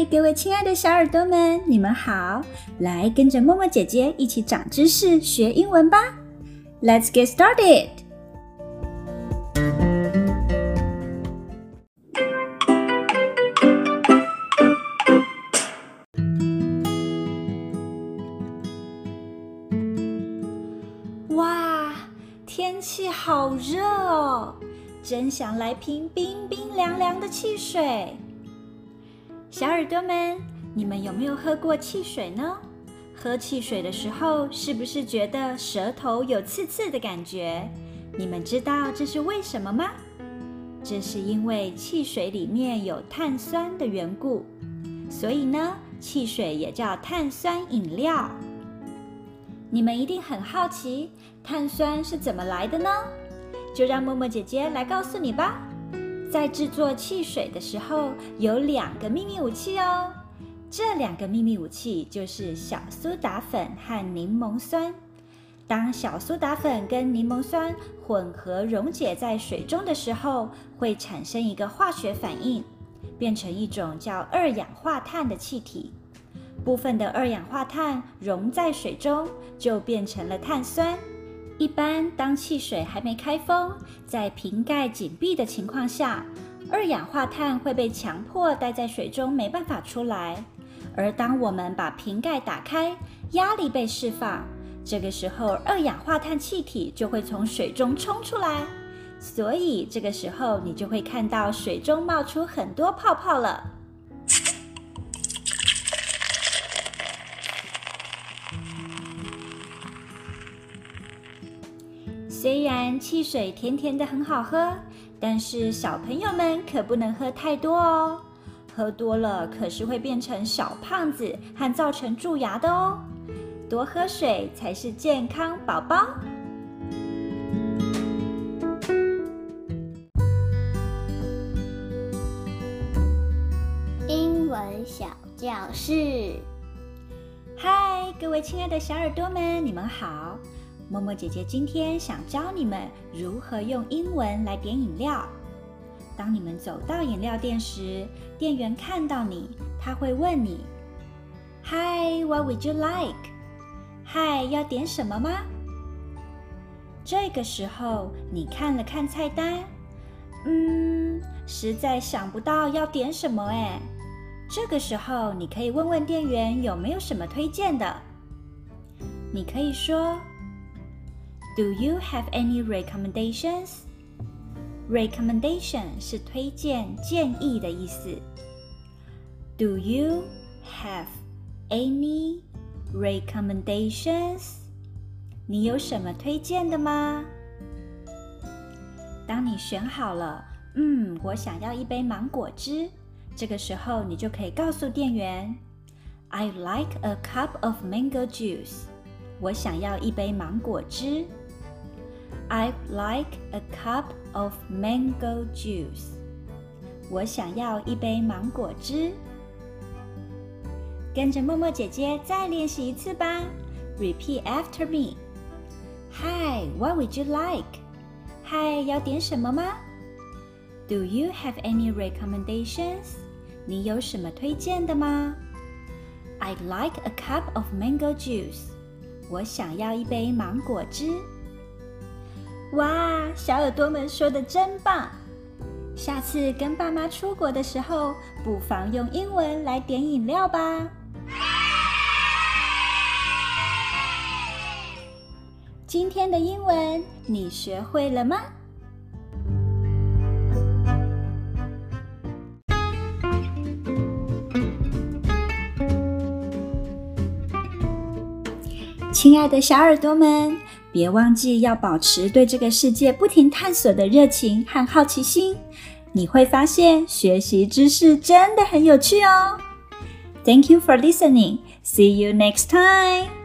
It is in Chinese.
嗨，各位親愛的小耳朵們，你們好！來跟着默默姐姐一起長知識，學英文吧。Let's get started! 哇，天氣好熱哦，真想來瓶冰冰涼涼的汽水。小耳朵們，你們有沒有喝過汽水呢？喝汽水的時候，是不是覺得舌頭有刺刺的感覺？你們知道這是為什麼嗎？這是因為汽水裡面有碳酸的緣故，所以呢，汽水也叫碳酸飲料。你們一定很好奇，碳酸是怎麼來的呢？就讓默默姐姐來告訴你吧。在製作汽水的時候，有2個秘密武器哦。這2個秘密武器就是小蘇打粉和檸檬酸。當小蘇打粉跟檸檬酸混合溶解在水中的時候，會產生一個化學反應，變成一種叫2氧化碳的氣體。部分的2氧化碳溶在水中，就變成了碳酸。一般當汽水還沒開封，在瓶蓋緊閉的情況下，2氧化碳會被強迫待在水中，沒辦法出來。而當我們把瓶蓋打開，壓力被釋放，這個時候2氧化碳氣體就會從水中衝出來，所以這個時候你就會看到水中冒出很多泡泡了。雖然汽水甜甜的很好喝，但是小朋友們可不能喝太多哦。喝多了可是會變成小胖子和造成蛀牙的哦。多喝水才是健康寶寶。 英文小教室。 嗨，各位親愛的小耳朵們，你們好。默默姐姐今天想教你們如何用英文來點飲料。當你們走到飲料店時，店員看到你，他會問你 Hi, what would you like? 嗨，要點什麼嗎？這個時候你看了看菜單，實在想不到要點什麼哎。這個時候你可以問問店員有沒有什麼推薦的。你可以說Do you have any recommendations? Recommendation 是推薦、建議的意思。Do you have any recommendations? 你有什麼推薦的嗎？當你選好了，我想要一杯芒果汁，這個時候你就可以告訴店員 I'd like a cup of mango juice. 我想要一杯芒果汁。I'd like a cup of mango juice. 我想要一杯芒果汁。跟着默默姐姐再練習一次吧。Repeat after me. Hi, what would you like? Hi, 要點什麼嗎？ Do you have any recommendations? 你有什麼推薦的嗎？ I'd like a cup of mango juice. 我想要一杯芒果汁。哇，小耳朵們說的真棒！下次跟爸媽出國的時候，不妨用英文來點飲料吧。今天的英文你學會了嗎？親愛的小耳朵們，別忘記要保持對這個世界不停探索的熱情和好奇心，你會發現學習知識真的很有趣哦。Thank you for listening. See you next time.